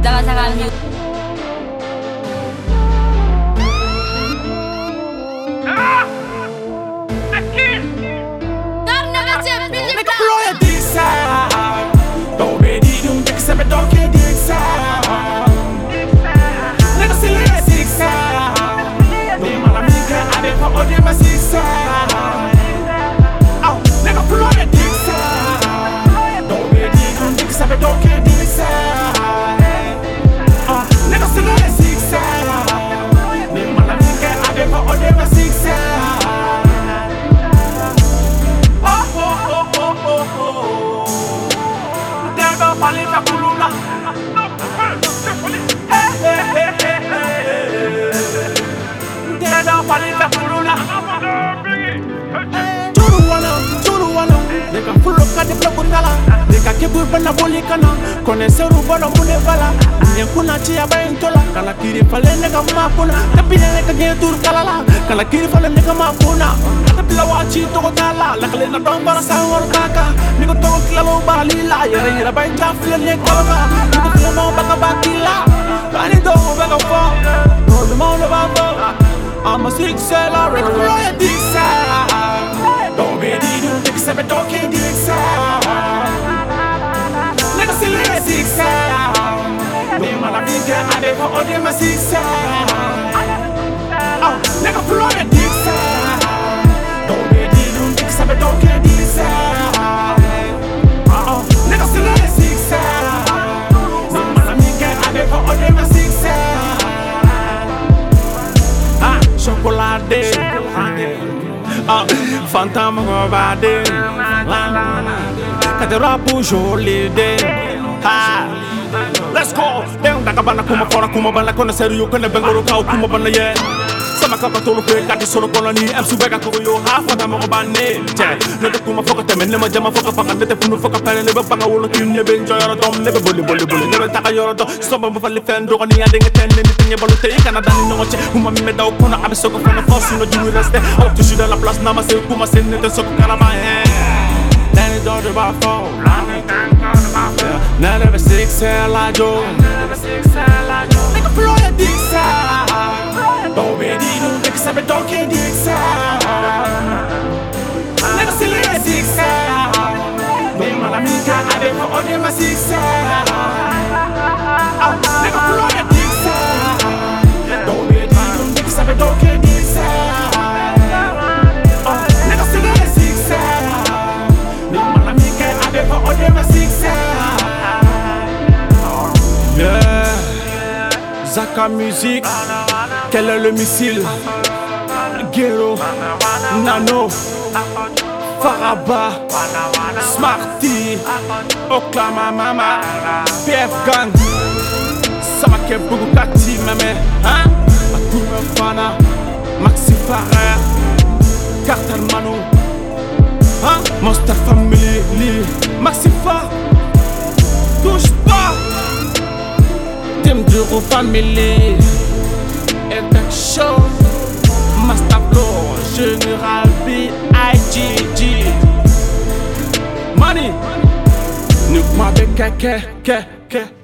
Saka Music. Nigga blow your dick sound. Don't be the doom, take a don't get dick sound. Nigga still in the six sound. They man a nigga, I dey for all them a six sound. Oh, nigga blow your dick sound. Don't be the doom, take a don't get dick sound. Nigga still in the six sound. They man a nigga, I dey for all them a six sound. Palita kulula, deda palita kulula. Turuwana, neka fulo kade blabundala, neka kebu bana boli kana, kone seru bana mune bala, nyekuna chia baintola, kala kiri fale neka mapuna, tapi neka getur kalala, kala kiri fale neka mapuna, tapi lawachi toko kala, lakale na dong para sahur kaka, niko toko kilalo balila, yera bainta file nekala, niko file mo baka bakila, kani toko baka fo, no the mo le bako, I'm a six seller, niko blow your dick sound. Don't be the doom, take a step and don't get dick sound. Nigga still in the six sound. They man a nigga, I dey for all them a six sound. Oh, nigga blow your dick sound. Don't be the doom, take a step and don't get dick sound. Oh, nigga still in the six sound. They man a nigga, I dey for all them a six sound. Ah, chocolate. Fantôme robade, cadê rapo jolide? Let's go. Dem da cabana kuma fora kuma bana kona sério kona bengoro kau kuma bana ye. Sama kaka tolo pe kadi solo koloni MC bega ko yo ha fata mo bane. Ne to kuma foka temen ne ma jama foka faka ne te funu foka pele ne banga wolo kin ne ben joyoro dom ne be boli ne be taka yoro do soba mo fali fen do ni ade ngeten ne tinye balu te kana dani no che kuma me daw kono abe soko fona force no juru reste au tu suis dans la place na ma se kuma se ne te soko kana ma Danny don't do about phone. Now never six hair like Joe. Nigga blow your dick sound. Don't be the doom, take a step and don't get dick sound. Nigga still in the six sound. They man a nigga, I dey for all them a six sound. Nigga blow your dick sound. Don't be the doom, take a step and don't get dick sound. Nigga still in the six sound. They man a nigga, I dey for all them a six sound. Yeah, Saka Music, quel est le missile? Gero, Nano, Faraba, Smarty, Oklama Mama, PF Gang, Samake Bugukati Mame, hein? Atouma Fana, Maxi Farah, Cartel Mano, hein? Monster Family, Maxi Farah, touche pas! Team Duro Family, Epic Show, Master Flow, General B.I.G.G. Money, Nuk ma be ke